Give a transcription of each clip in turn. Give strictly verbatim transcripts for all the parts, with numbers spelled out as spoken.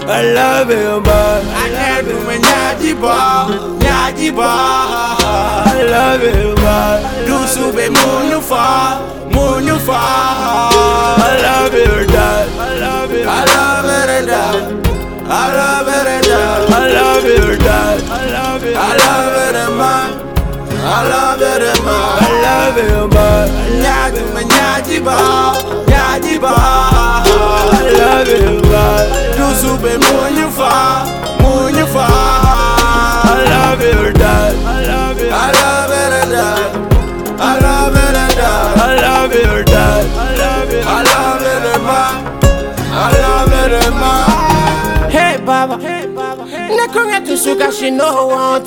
I love you, man. I can't do my nyajiba, nyajiba. I love you, man. Do sube munufa, munufa. I love you, dad. I love you. I love it, dad. I love it, dad. I love you, dad. I love you. I love it, man. I love it, man. I love you, man. Nyajiba, nyajiba, nyajiba. I love you, man. Do sube munufa, munufa. I love you, dad. I love you. I love it, dad. I love it, dad. I love you, dad. I love you. I love it, man. I love it, man. Hey, Baba. Hey, Baba. Nakonga to sugar she no want.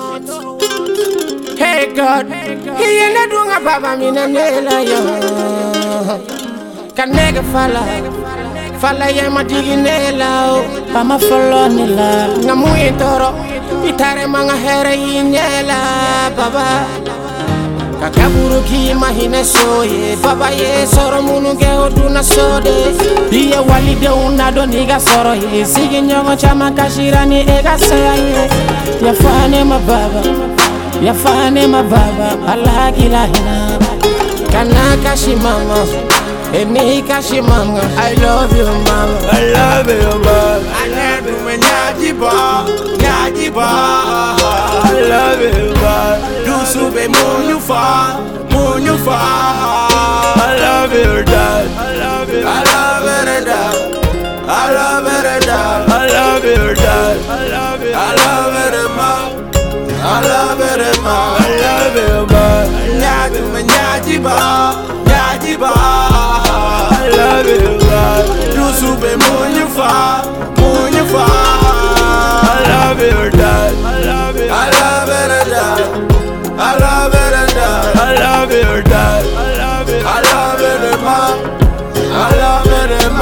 Hey, God. He ain't a doing a Baba mina nela yo. Can nega falla. Falla ya madigi nela. Pama follow nila. Ngamuye toro. Itare manga here yinyela Baba. Kakaburu ki mahine soye Baba ye soro munu ge oduna sode Diye wali de una do niga soro ye Sigi nyongo chama kashirani ega saye Ya fane ma baba Ya fane ma baba Allah gila hina Kana kashi mama Eni kashi mama I love you mama I love you, man. I love you me nyajiba Nyajiba I love you, man. Do sube munufa, munufa. I love you, dad. I love you. I love it, dad. I love it, dad. I love you, dad. I love you. I love it, man. I love it, man. I love you, man. Nyadu me nyajiba, nyajiba. I love you, man. Do sube munufa, munufa. I love you, dad. I love you. I love it, dad. I love it, dad. I love you, dad. I love you. I love it, man. I love it,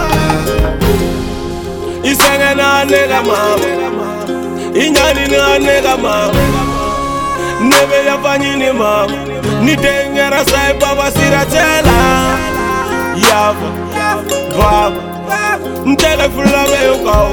man. Isanga na nega mama. Inyani na nega mama. Nebe ya fanyini mama. Ni dengera sai baba siratela. Yava, baba. Ntele fulame yuko.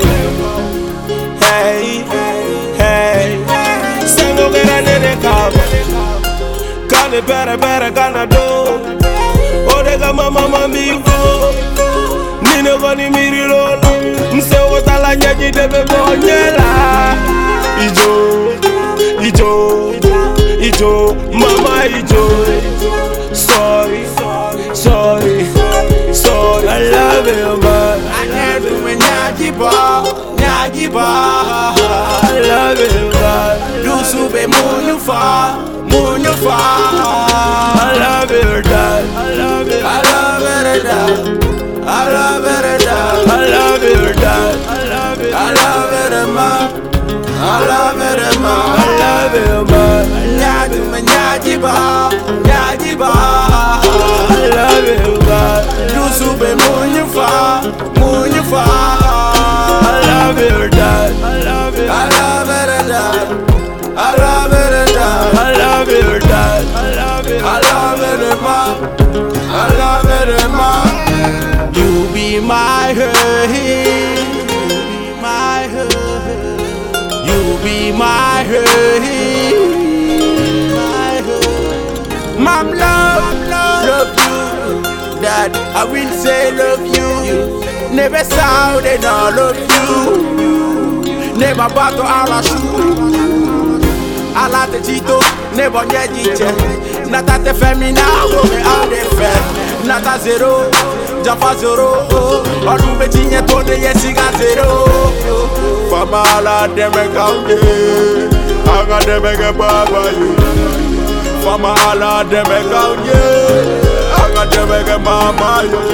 Hey, hey. Sango gera nene kama. Kane bere bere kana do. Odega mama mamigo. Nine goni miri lola. Mse wotala nyaji debe bonyela. Ijo, ijo, ijo, mama ijo. Sorry, sorry, sorry. I love you, man. I love you, me nyajiba, nyajiba. I love you, man. Do sube munufa, munufa. I love you, dad. I love you. I love it, dad. I love it, dad. I love you, dad. I love you. I love it, man. I love it, man. I love you, man. Nyadu me nyajiba, nyajiba. I love you, man. Do sube munufa, munufa. I love you, dad. I love you. I love it, dad. I love it, dad. I love you, dad. I love you. I love it, man. I love it, man. You be my hey, you be my hey, you be my hey, my hey. Mom love, love you. Dad, I will say love you. Never saw they not love you. Never battle our shoe. I like the Tito, never get it. Not at the femina, woman out the fair. Not a zero, Jaffa zero. Or do Virginia to the Yesiga zero. Famala, them a county. I got them a baba. Famala, them a county. I got them a mama.